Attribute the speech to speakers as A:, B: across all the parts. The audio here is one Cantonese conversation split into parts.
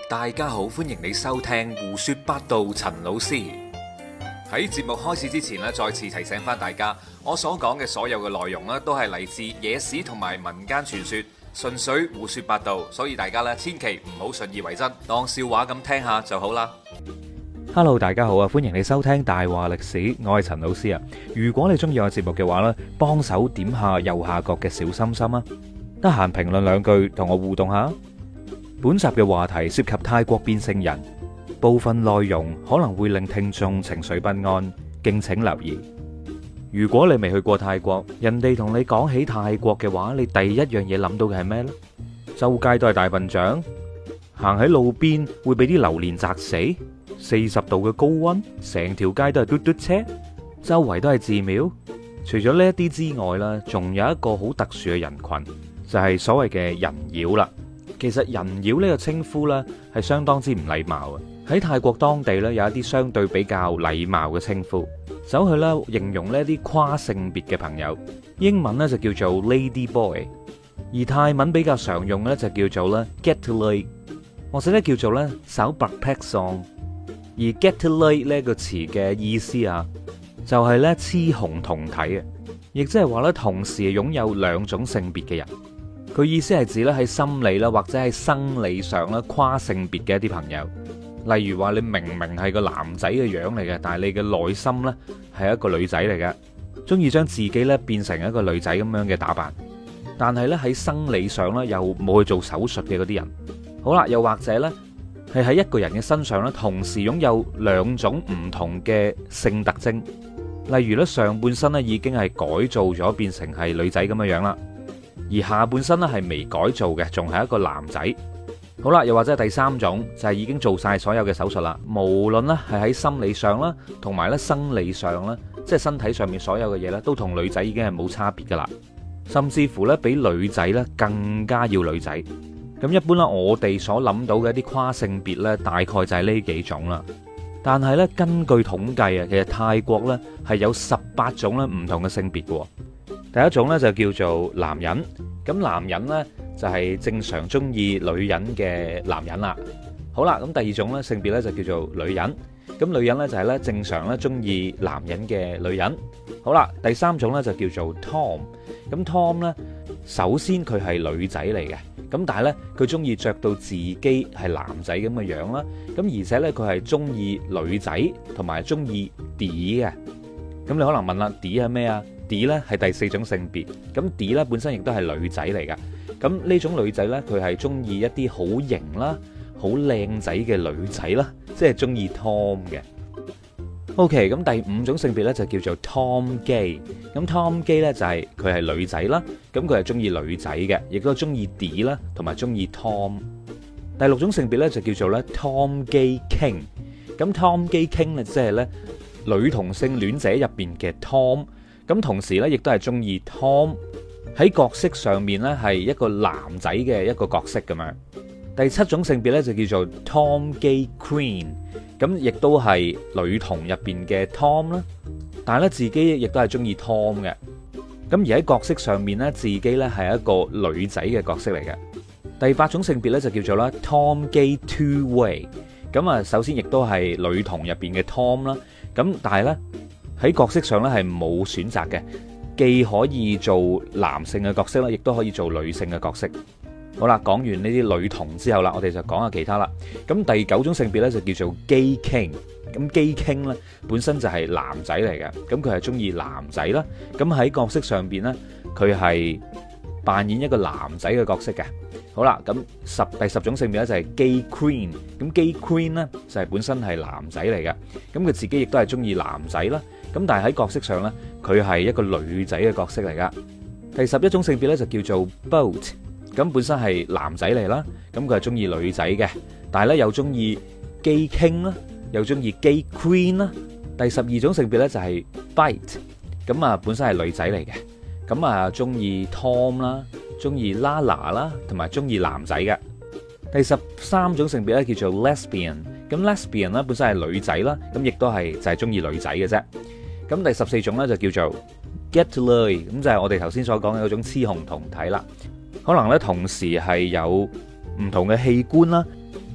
A: 大家好，歡迎你收聽胡說八道。陳老師喺節目開始之前咧，再次提醒翻大家，我所講嘅所有嘅內容咧，都係嚟自野史同埋民間傳說，純粹胡說八道，所以大家咧千祈唔好信以為真，當笑話咁聽下就好啦。
B: Hello， 大家好啊！歡迎你收聽大話歷史，我係陳老師啊。如果你中意我節目嘅話呢，幫手點下右下角嘅小心心啊，得閒評論兩句同我互動下。本集嘅話題涉及泰國變性人，部分內容可能會令聽眾情緒不安，敬請留意。如果你未去過泰國，人哋同你講起泰國嘅話，你第一樣嘢諗到嘅係咩呢？周街都係大笨象，行喺路邊會俾啲榴蓮砸死，40度嘅高溫，成條街都係嘟嘟車，周圍都係寺廟。除咗呢一啲之外啦，仲有一個好特殊嘅人群，就係所謂嘅人妖啦。其實人妖呢個稱呼呢，係相當之唔禮貌嘅。喺泰國當地呢，有一啲相對比較禮貌嘅稱呼，走去啦形容呢啲跨性別嘅朋友。英文呢就叫做 Lady Boy， 而泰文比較常用呢就叫做咧 Get to Lay， 或者咧叫做咧手白 pack song。而 Get to Lay 呢個詞嘅意思啊，就係咧雌雄同體嘅，亦即係話咧同時擁有兩種性別嘅人。佢意思係指咧喺心理啦或者喺生理上咧跨性別嘅一啲朋友。例如話你明明係個男仔嘅樣嚟嘅，但係你嘅內心咧係一個女仔嚟嘅，中意將自己咧變成一個女仔咁樣嘅打扮，但係咧喺生理上咧又冇去做手術嘅嗰啲人。好啦，又或者咧係喺一個人嘅身上咧同時擁有兩種唔同嘅性特徵。例如咧上半身咧已經係改造咗變成係女仔咁嘅樣啦，而下半身咧係未改造嘅，仲係一個男仔。好啦，又或者係第三種就係已經做晒所有嘅手術啦，無論咧係喺心理上啦，同埋咧生理上啦，即係身體上面所有嘅嘢咧，都同女仔已經係冇差別噶啦，甚至乎咧比女仔咧更加要女仔。咁一般啦，我哋所諗到嘅一啲跨性別咧，大概就係呢幾種啦。但係咧，根據統計啊，其實泰國咧係有18種咧唔同嘅性別嘅。第一種咧就叫做男人，咁男人咧就係正常中意女人嘅男人啦。好啦，咁第二種咧性別咧就叫做女人，咁女人咧就係咧正常咧中意男人嘅女人。好啦，第三種咧就叫做 Tom， 咁 Tom 咧首先佢係女仔嚟嘅，咁但係咧佢中意着到自己係男仔咁嘅樣啦，咁而且咧佢係中意女仔同埋中意 D 嘅。咁你可能問啦，D 係咩啊？D 咧係第四種性別，咁 D 咧本身亦都係女仔嚟噶。咁呢種女仔咧，佢係中意一啲好型啦、好靚仔嘅女仔啦，即係中意 Tom 嘅。OK， 咁第五種性別咧就叫做 Tom Gay。咁 Tom Gay 咧就係佢係女仔啦，咁佢係中意女仔嘅，亦都中意 D 啦，同埋中意 Tom。第六種性別咧就叫做咧 Tom Gay King。咁 Tom Gay King 咧即係咧女同性戀者入邊嘅 Tom。咁同時咧，亦都係中意 Tom 喺角色上面咧，係一個男仔嘅一個角色咁樣。第七種性別咧就叫做 Tom Gay Queen， 咁亦都係女同入邊嘅 Tom 啦。但係咧自己亦都係中意 Tom 嘅。咁而喺角色上面咧，自己咧係一個女仔嘅角色嚟嘅。第八種性別咧就叫做啦 Tom Gay Two Way， 咁啊首先亦都係女同入邊嘅 Tom 啦。咁但係咧，喺角色上咧係冇選擇嘅，既可以做男性嘅角色啦，亦都可以做女性嘅角色。好啦，講完呢啲女同之後啦，我哋就講下其他啦。咁第九種性別咧就叫做 Gay King。咁 Gay King 咧本身就係男仔嚟嘅，咁佢係中意男仔啦。咁喺角色上邊咧，佢係扮演一個男仔嘅角色嘅。好啦，咁第十種性別咧就係 Gay Queen。咁 Gay Queen 咧就係本身係男仔嚟嘅，咁佢自己亦都係中意男仔啦。咁但係喺角色上咧，佢係一個女仔嘅角色嚟噶。第11種性別咧就叫做 Boat， 咁本身係男仔嚟啦，咁佢係中意女仔嘅，但係咧又中意 Gay King 啦，又中意 Gay Queen 啦。第12種性別咧就係 Bite， 咁啊本身係女仔嚟嘅，咁啊中意 Tom 啦，中意 Lala 啦，同埋中意男仔嘅。第13種性別咧叫做 Lesbian， 咁 Lesbian 咧本身係女仔啦，咁亦都係就係中意女仔嘅啫。咁第14種咧就叫做 Get to Lay， 咁就係我哋頭先所講嘅嗰種雌雄同體啦。可能咧同時係有唔同嘅器官啦，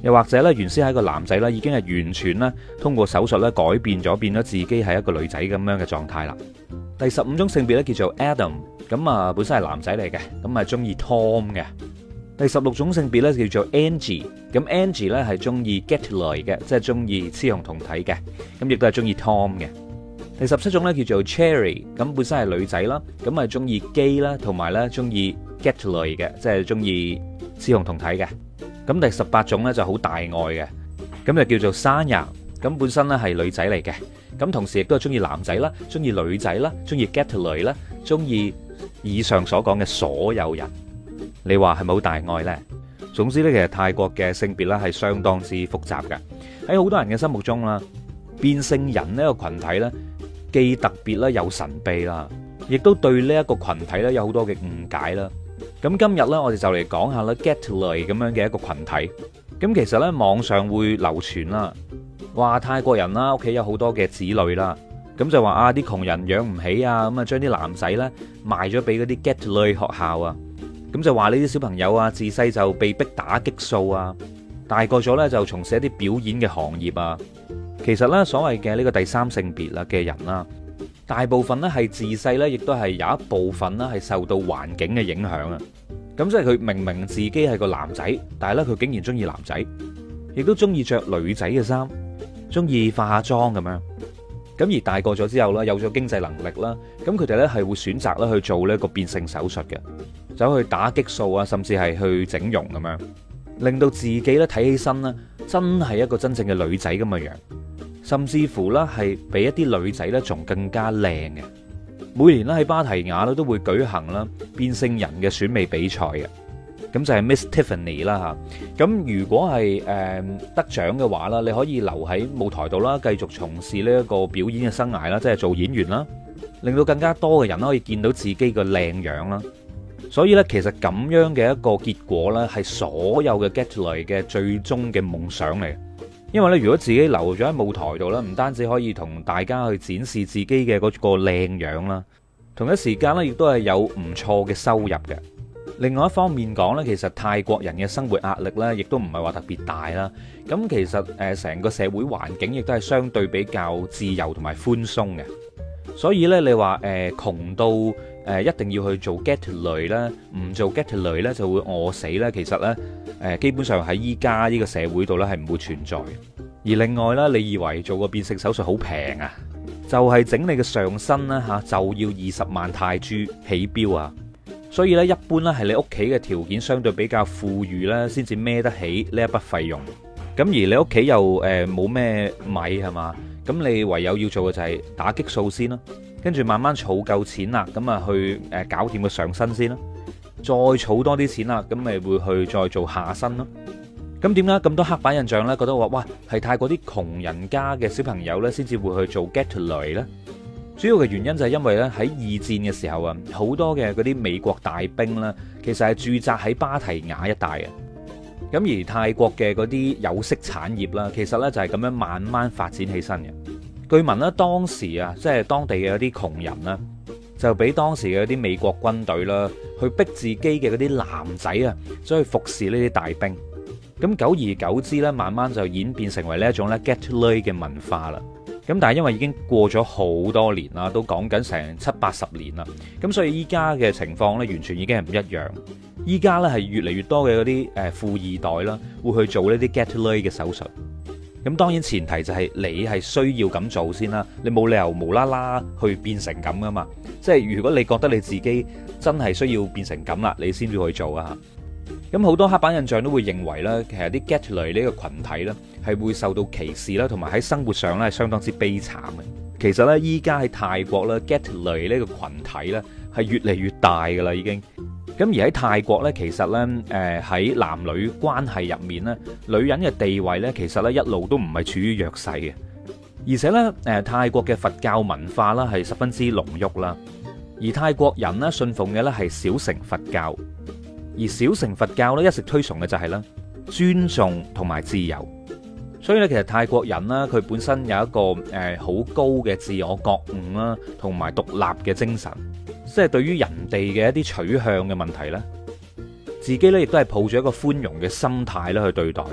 B: 又或者咧原先係一個男仔啦，已經係完全咧通過手術咧改變咗，變咗自己係一個女仔咁樣嘅狀態啦。第15種性別咧叫做 Adam， 咁啊本身係男仔嚟嘅，咁啊中意 Tom 嘅。第16種性別咧叫做 Angie， 咁 Angie 咧係中意 Gatley 嘅，即係中意雌雄同體嘅，咁亦都係中意 Tom 嘅。第17種咧叫做 Cherry， 咁本身係女仔啦，咁啊中意 gay 啦，同埋咧中意 Gatley 嘅，即係中意雌雄同體嘅。咁第18種咧就好大愛嘅，咁就叫做 Sanya， 咁本身咧係女仔嚟嘅，咁同時亦都係中意男仔啦，中意女仔啦，中意 Gatley 啦，中意以上所講嘅所有人。你話係咪好大愛呢？總之呢，其實泰國嘅性別咧係相當之複雜嘅。喺好多人嘅心目中啦，變性人呢個群體呢，既特別啦又神秘啦，亦都對呢一個群體呢有好多嘅誤解啦。咁今日呢，我哋就嚟講下啦 Gatley 咁樣嘅一個群體。咁其實呢，網上會流傳啦，話泰國人啦屋企有好多嘅子女啦，咁就話啊啲窮人養唔起啊，咁啊將啲男仔呢賣咗俾嗰啲 Gatley 學校啊。咁就話呢啲小朋友啊，自細就被逼打激素啊，大個咗呢就從事一啲表演嘅行業啊。其實呢，所謂嘅呢個第三性別啦嘅人啦，大部分呢係自細呢亦都係有一部分呢係受到環境嘅影響啊。咁即係佢明明自己係個男仔，但係呢，佢竟然中意男仔，亦都中意着女仔嘅衫，中意化下妝咁樣。咁而大個咗之後呢，有咗經濟能力啦，咁佢哋呢係會選擇咧去做呢個變性手術嘅。走去打激素啊，甚至係去整容咁樣，令到自己咧睇起身咧，真係一個真正嘅女仔咁嘅樣，甚至乎咧係比一啲女仔咧仲更加靚嘅。每年咧喺芭提雅咧都會舉行啦變性人嘅選美比賽嘅，咁就係 Miss Tiffany 啦嚇。咁如果係得獎嘅話啦，你可以留喺舞台度啦，繼續從事呢一個表演嘅生涯啦，即係做演員啦，令到更加多嘅人可以見到自己個靚樣啦。所以咧，其實咁樣嘅一個結果咧，係所有嘅 Gatley 嘅最終嘅夢想嚟。因為咧，如果自己留咗喺舞台度咧，唔單止可以同大家去展示自己嘅嗰個靚樣啦，同一時間咧，亦都係有唔錯嘅收入嘅。另外一方面講咧，其實泰國人嘅生活壓力咧，亦都唔係話特別大啦。咁其實成個社會環境亦都係相對比較自由同埋寬鬆嘅。所以咧，你話窮到一定要去做 Gatley 咧，唔做 Gatley咧就會餓死咧。其實咧，基本上喺依家呢個社會度咧係唔會存在。而另外咧，你以為做個變性手術好平啊？就係整你嘅上身啦嚇，就要20萬泰銖起標啊！所以咧，一般咧係你屋企嘅條件相對比較富裕咧，先至孭得起呢一筆費用。咁而你屋企又冇咩米係嘛？咁你唯有要做嘅就係打激素先啦，跟住慢慢儲夠錢啦，咁啊去搞掂個上身先啦，再儲多啲錢啦，咁咪會去再做下身咯。咁點解咁多刻板印象呢？覺得話哇係泰國啲窮人家嘅小朋友呢先至會去做 Gatley 呢？主要嘅原因就係因為咧喺二戰嘅時候啊，好多嘅嗰啲美國大兵呢，其實係駐紮喺芭提雅一帶嘅。咁而泰國嘅嗰啲有色產業啦，其實呢就係咁樣慢慢發展起身嘅。據聞呢，當時啊，即係當地嘅一啲窮人啦，就俾當時嘅一啲美國軍隊啦，去逼自己嘅嗰啲男仔啊，走去服侍呢啲大兵。咁久而久之呢，慢慢就演變成為呢一種咧 Gatley 嘅文化啦。咁但係因為已經過咗好多年啦，都講緊成70-80年啦，咁所以依家嘅情況呢，完全已經係唔一樣。依家呢，係越嚟越多嘅嗰啲富二代啦，會去做呢啲 Gatley 嘅手術。咁當然前提就係你係需要咁做先啦，你冇理由無啦啦去變成咁噶嘛。即係如果你覺得你自己真係需要變成咁啦，你先至去做啊。咁好多刻板印象都會認為咧，其實啲 Gatley 呢個群體咧係會受到歧視啦，同埋喺生活上咧係相當之悲慘嘅。其實咧，依家喺泰國咧 Gatley 呢個群體咧係越嚟越大噶啦，已經。咁而喺泰國咧，其實咧喺男女關係入面咧，女人嘅地位咧其實咧一路都唔係處於弱勢嘅。而且咧泰國嘅佛教文化啦係十分之濃郁啦，而泰國人咧信奉嘅咧係小乘佛教。而小乘佛教咧一直推崇嘅就係咧尊重同埋自由，所以咧其實泰國人啦，佢本身有一個好高嘅自我覺悟啦，同埋獨立嘅精神，即係對於人哋嘅一啲取向嘅問題咧，自己咧亦都係抱住一個寬容嘅心態咧去對待嘅。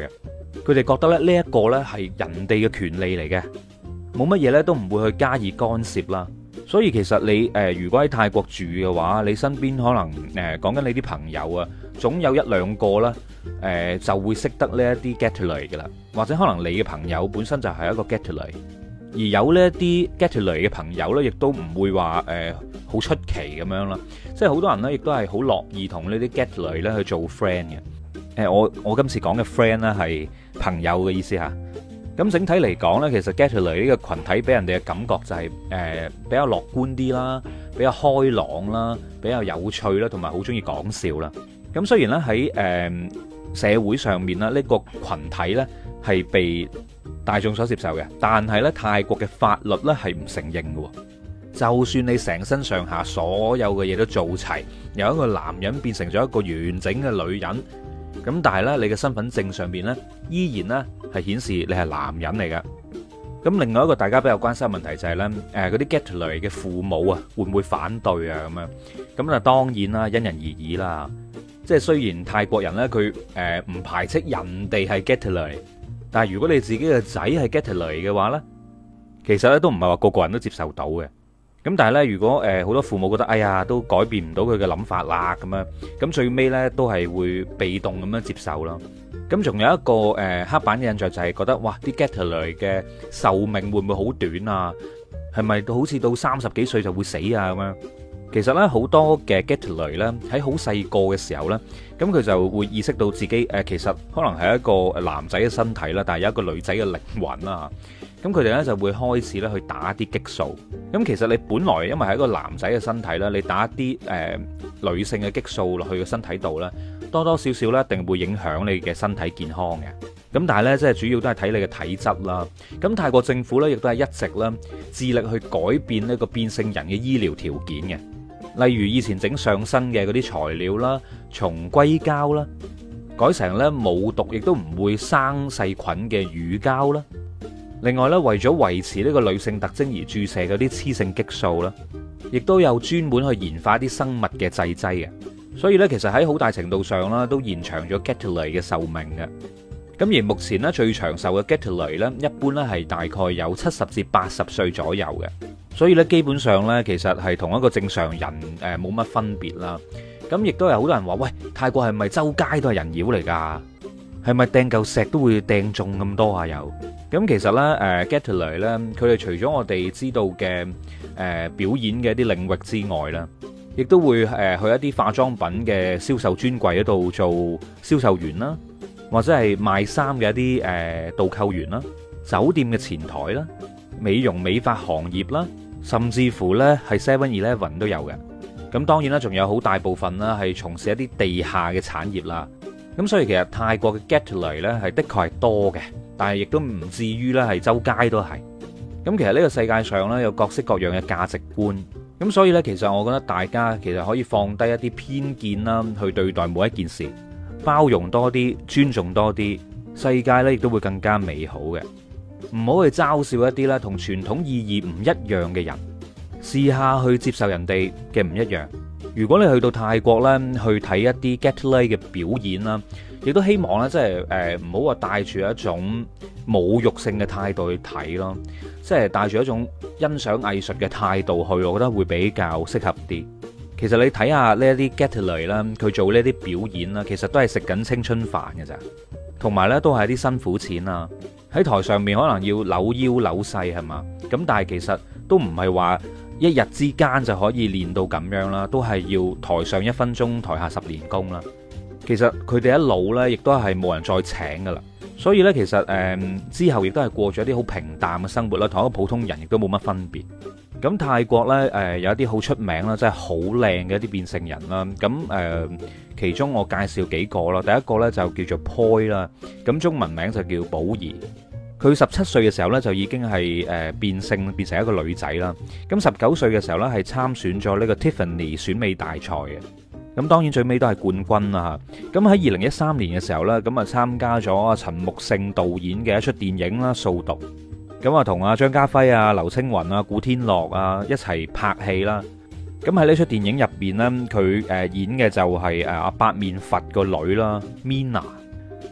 B: 佢哋覺得咧呢一個呢係人哋嘅權利嚟嘅，冇乜嘢呢都唔會去加以干涉啦。所以其實你如果喺泰國住嘅話，你身邊可能講緊你啲朋友啊，總有一兩個啦，就會識得呢一啲 Gatley 嘅啦，或者可能你嘅朋友本身就係一個 Gatley，而有呢一啲 Gatley 嘅朋友呢，亦都唔會話好出奇咁樣啦。即係好多人呢，亦都係好樂意同呢啲 Gatley 咧去做 friend 嘅。我今次講嘅 friend 呢係朋友嘅意思嚇。咁整體嚟講呢，其實 Gatley 呢個群體俾人哋嘅感覺就係比較樂觀啲啦，比較開朗啦，比較有趣啦，同埋好中意講笑啦。咁雖然咧喺社會上面啦，呢個群體呢係被大眾所接受嘅，但係呢泰國嘅法律呢係唔承認嘅。就算你成身上下所有嘅嘢都做齊，由一個男人變成咗一個完整嘅女人，咁但係呢，你嘅身份證上面呢，依然呢係顯示你係男人嚟嘅。咁另外一個大家比較關心嘅問題就係呢，嗰啲 Gatley 嘅父母啊，會唔會反對啊？咁樣咁啊，當然啦，因人而異啦。即係雖然泰國人呢，佢唔排斥人哋係 Gatley，但係如果你自己嘅仔係 Gatley 嘅話呢，其實呢都唔係話個個人都接受到嘅。咁但係呢，如果好多父母覺得哎呀都改變唔到佢嘅諗法啦，咁樣咁最尾呢都係會被動咁樣接受咯。咁仲有一個刻板嘅印象就係覺得哇，啲 Gatley 嘅壽命會唔會好短啊？係咪好似到30幾歲就會死啊咁樣？其實呢，好多嘅 Gatley 呢喺好細個嘅時候呢，咁佢就會意識到自己其實可能係一個男仔嘅身體啦，但係有一個女仔嘅靈魂啦。咁佢哋咧就會開始咧去打一啲激素。咁其實你本來因為係一個男仔嘅身體啦，你打一啲女性嘅激素落去個身體度咧，多多少少咧一定會影響你嘅身體健康嘅。咁但係咧，即係主要都係睇你嘅體質啦。咁泰國政府咧亦都係一直咧致力去改變呢個變性人嘅醫療條件嘅。例如以前整上身嘅嗰啲材料啦，從硅膠啦，改成咧冇毒亦都唔會生細菌嘅乳膠啦。另外咧，為咗維持呢個女性特徵而注射嗰啲雌性激素啦，亦都有專門去研發啲生物嘅製劑嘅。所以咧，其實喺好大程度上啦，都延長咗 Gatley 嘅壽命嘅。咁而目前咧最長壽嘅 Gatley咧，一般咧係大概有70至80歲左右嘅。所以咧，基本上咧，其實係同一個正常人冇乜分別啦。咁亦都有好多人話：喂，泰國係咪周街都係人妖嚟㗎？係咪掟嚿石都會掟中咁多啊？有咁其實咧，Gatley 咧，佢哋除咗我哋知道嘅表演嘅一啲領域之外啦，亦都會去一啲化妝品嘅銷售專櫃嗰度做銷售員啦，或者係賣衫嘅一啲導購員啦，酒店嘅前台啦，美容美髮行業啦，甚至乎咧係 7-Eleven 都有嘅。咁當然啦，仲有好大部分啦係從事一啲地下嘅產業啦。咁所以其實泰國嘅 Gatley 咧係的確係多嘅，但係亦都唔至於咧係周街都係。咁其實呢個世界上咧有各式各樣嘅價值觀，咁所以咧其實我覺得大家其實可以放低一啲偏見啦，去對待每一件事，包容多啲，尊重多啲，世界咧亦都會更加美好嘅。唔好去嘲笑一啲咧同傳統意義唔一樣嘅人，試下去接受人哋嘅唔一樣。如果你去到泰國咧，去睇一啲 Gatley 嘅表演啦，亦都希望咧，即係唔好話帶住一種侮辱性嘅態度去睇咯，即係帶住一種欣賞藝術嘅態度去，我覺得會比較適合啲。其實你睇下呢一啲 Gatley 啦，佢做呢啲表演啦，其實都係食緊青春飯嘅咋，同埋咧都係啲辛苦錢啊。喺台上面可能要扭腰扭勢係嘛，咁但係其實都唔係話一日之間就可以練到咁樣啦，都係要台上1分鐘，台下10年功啦。其實佢哋一老呢，亦都係冇人再請噶啦。所以呢，其實之後亦都係過咗啲好平淡嘅生活啦，同一個普通人亦都冇乜分別。咁泰國呢，有一啲好出名啦，真係好靚嘅一啲變性人啦。咁其中我介紹幾個啦，第一個呢，就叫做 Poi 啦，咁中文名就叫寶儀。佢17歲嘅時候呢，就已經係變性變成一個女仔啦。咁19歲嘅時候呢，係參選咗呢個 Tiffany 選美大賽嘅。咁當然最尾都係冠軍啦嚇。咁喺2013年嘅時候呢，咁啊參加咗陳木勝導演嘅一出電影啦《掃毒》。咁啊同阿張家輝啊、劉青雲啊、古天樂啊一齊拍戲啦。咁喺呢出電影入邊呢，佢演嘅就係阿八面佛個女啦 Mina。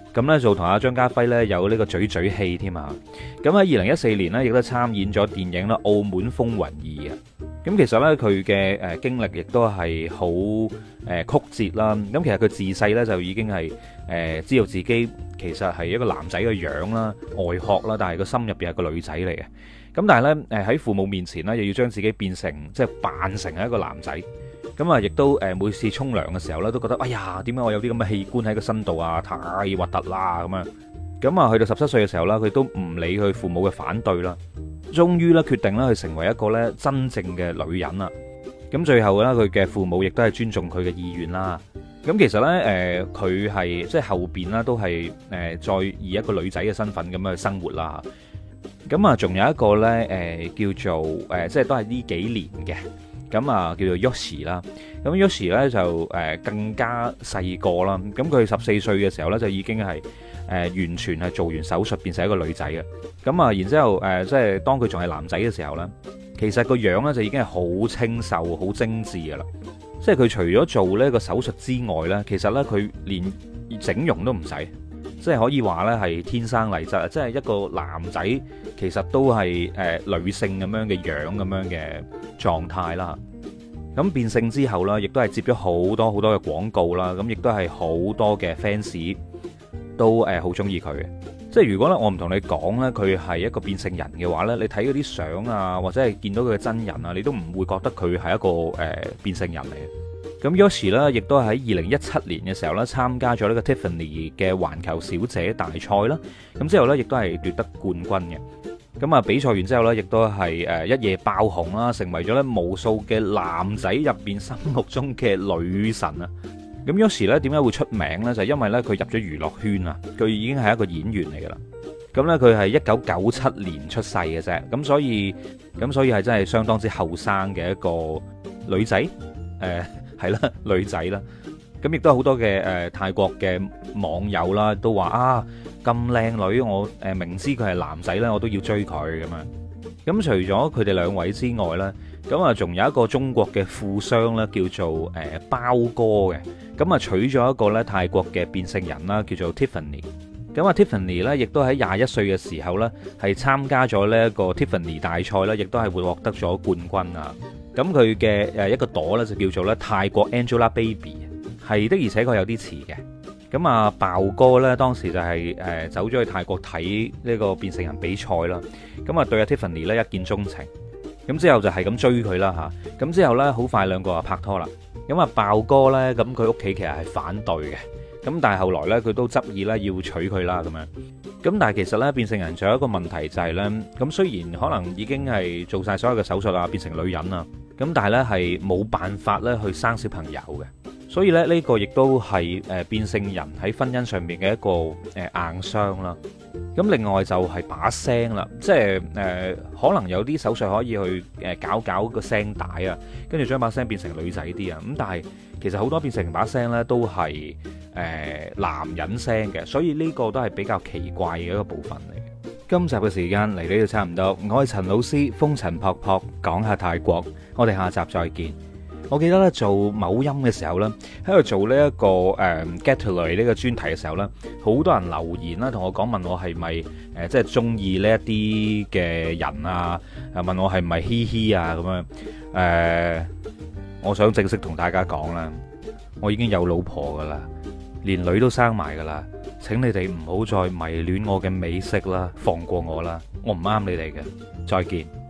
B: 咁呢就同阿張家輝呢有呢個嘴嘴戲添啊。咁喺2014年呢，亦都參演咗電影啦《澳門風雲2》啊。咁其實呢，佢嘅經歷亦都係好曲折啦。咁其實佢自細呢，就已經係知道自己其實係一個男仔嘅樣啦、外殼啦，但係個心入邊係個女仔嚟嘅。咁但係呢，喺父母面前呢，又要將自己變成即係扮成係一個男仔。咁啊，亦都每次沖涼嘅時候咧，都覺得哎呀，點解我有啲咁嘅器官喺個身度啊？太核突啦咁樣。咁啊，去到17歲嘅時候啦，佢都唔理佢父母嘅反對啦，終於咧決定咧去成為一個咧真正嘅女人啦。咁最後咧，佢嘅父母亦都係尊重佢嘅意願啦。咁其實咧，佢係即係後邊啦，都係再以一個女仔嘅身份咁樣去生活啦。咁啊，仲有一個咧，叫做即係都係呢幾年嘅。咁啊，叫做 Yoshi 啦。咁 Yoshi 咧就更加細個啦。咁佢14歲嘅時候咧，就已經係完全係做完手術變成一個女仔嘅。咁啊，然之後即係當佢仲係男仔嘅時候咧，其實個樣咧就已經係好清秀、好精緻㗎啦。即係佢除咗做呢個手術之外咧，其實咧佢連整容都唔使，即係可以話咧係天生麗質。即係一個男仔其實都係女性咁樣嘅樣咁樣嘅狀態啦。咁變性之後啦，亦都係接咗好多好多嘅廣告啦。咁亦都係好多嘅 fans 都好中意佢嘅。即係如果咧我唔同你講咧，佢係一個變性人嘅話咧，你睇嗰啲相啊，或者係見到佢嘅真人啊，你都唔會覺得佢係一個變性人嚟嘅。咁 Yoshi 咧，亦都喺2017年嘅時候咧，參加咗呢個 Tiffany 嘅環球小姐大賽啦。咁之後咧，亦都係奪得冠軍嘅。咁啊，比賽完之後咧，亦都係一夜爆紅啦，成為咗咧無數嘅男仔入邊心目中嘅女神啊！咁 Yoshi 咧點解會出名咧？就係因為咧佢入咗娛樂圈啊，佢已經係一個演員嚟噶啦。咁咧佢係1997年出世嘅啫，咁所以係真係相當之後生嘅一個女仔，係啦，女仔啦。咁亦都好多嘅泰國嘅網友啦，都話啊，咁靚女，我明知佢係男仔咧，我都要追佢咁樣。咁除咗佢哋兩位之外咧，咁啊仲有一個中國嘅富商咧，叫做包哥嘅。咁啊娶咗一個咧泰國嘅變性人啦，叫做 Tiffany。咁啊 Tiffany 咧，亦都喺21歲嘅時候咧，係參加咗呢一個 Tiffany 大賽啦，亦都係會獲得咗冠軍啊。咁佢嘅一個朵咧就叫做咧泰國 Angelababy。係的，而且確有啲似嘅。咁啊，爆哥呢，當時就係走咗去泰國睇呢個變性人比賽啦。咁啊，對阿 Tiffany 呢一見鍾情。咁之後就係咁追佢啦嚇。咁之後呢，好快兩個就拍拖啦。咁啊，爆哥呢，咁佢屋企其實係反對嘅。咁但係後來呢，佢都執意呢要娶佢啦咁樣。咁但係其實呢，變性人仲有一個問題就係呢。咁雖然可能已經係做晒所有嘅手術啊，變成女人啊，咁但係呢，係冇辦法呢去生小朋友嘅。所以咧，呢個亦都係變性人喺婚姻上面嘅一個硬傷啦。咁另外就係把聲啦，即係可能有啲手術可以去搞個聲帶啊，跟住將把聲變成女仔啲啊。咁但係其實好多變成把聲呢都係男人聲嘅，所以呢個都係比較奇怪嘅一個部分嚟嘅。今集嘅時間嚟到呢度差唔多，我係陳老師，風塵僕僕講下泰國，我哋下集再見。我記得咧做某音嘅時候咧，喺度做呢一個Getaway呢個專題嘅時候咧，好多人留言啦，同我講問我係咪即係中意呢一啲嘅人啊，問我係咪嘻嘻啊咁樣。我想正式同大家講啦，我已經有老婆噶啦，連女都生埋噶啦。請你哋唔好再迷戀我嘅美色啦，放過我啦，我唔啱你哋嘅。再見。